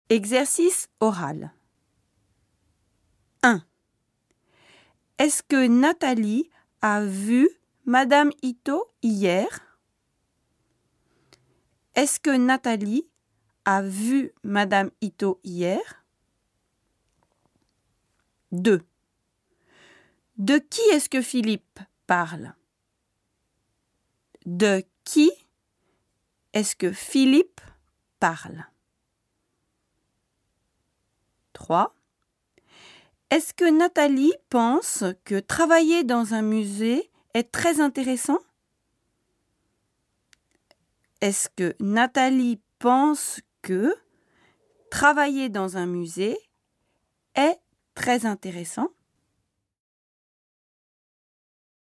Exercice oral. 1. Est-ce que Nathalie a vu Madame Ito hier? Est-ce que Nathalie a vu Madame Ito hier? 2. De qui est-ce que Philippe parle? De qui est-ce que Philippe parle? 3. Est-ce que Nathalie pense que travailler dans un musée est très intéressant? Est-ce que Nathalie pense que travailler dans un musée est très intéressant?